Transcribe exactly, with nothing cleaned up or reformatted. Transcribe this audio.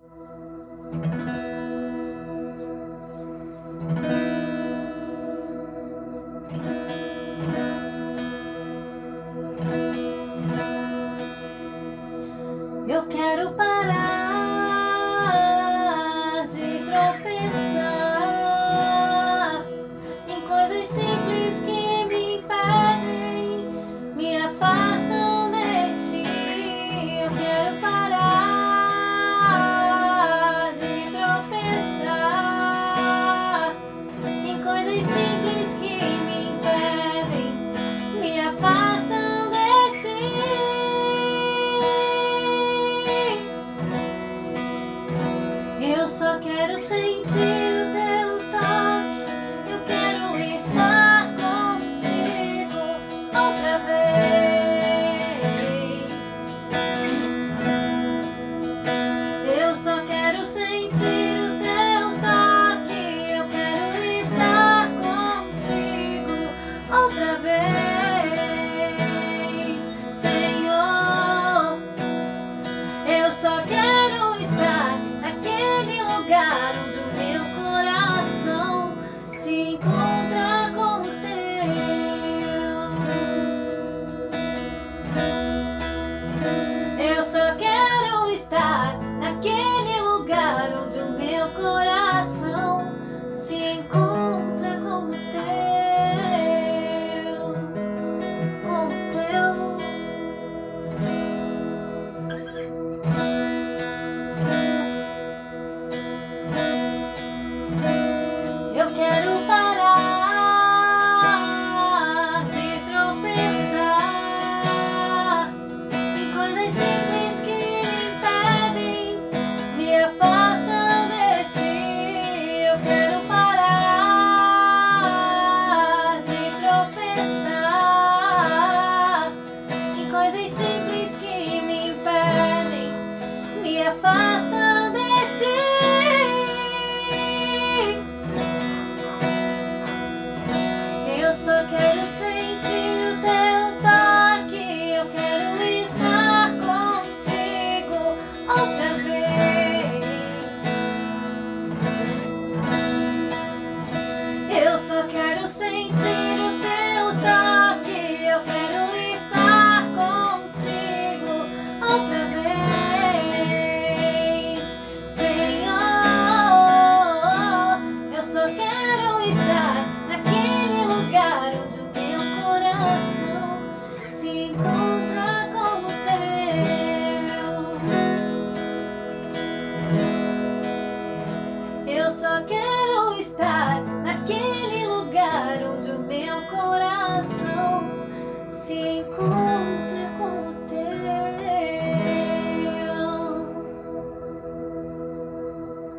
Eu quero parar de tropeçar em coisas simples que me impedem, me afastam de ti. Eu quero parar de tropeçar em coisas simples que me impedem, me afastam de ti. Eu só quero sentir o teu toque, eu quero estar contigo outra vez. Eu só quero sentir o teu toque, eu quero estar contigo outra vez. Senhor, eu só quero estar naquele lugar onde o meu coração se encontra com o teu. Eu só quero estar naquele lugar onde o meu coração se encontra com o teu, com o teu. Eu quero parar de tropeçar em coisas simples que me impedem, me afastam de ti. Eu quero parar de tropeçar em coisas simples que me impedem, me afastam de ti. Eu só quero sentir o teu toque, eu quero estar contigo outra vez. Eu só quero sentir o teu toque, eu quero estar contigo outra vez. Senhor, eu só quero estar naquele lugar onde o meu coração se encontra com o teu. Eu só quero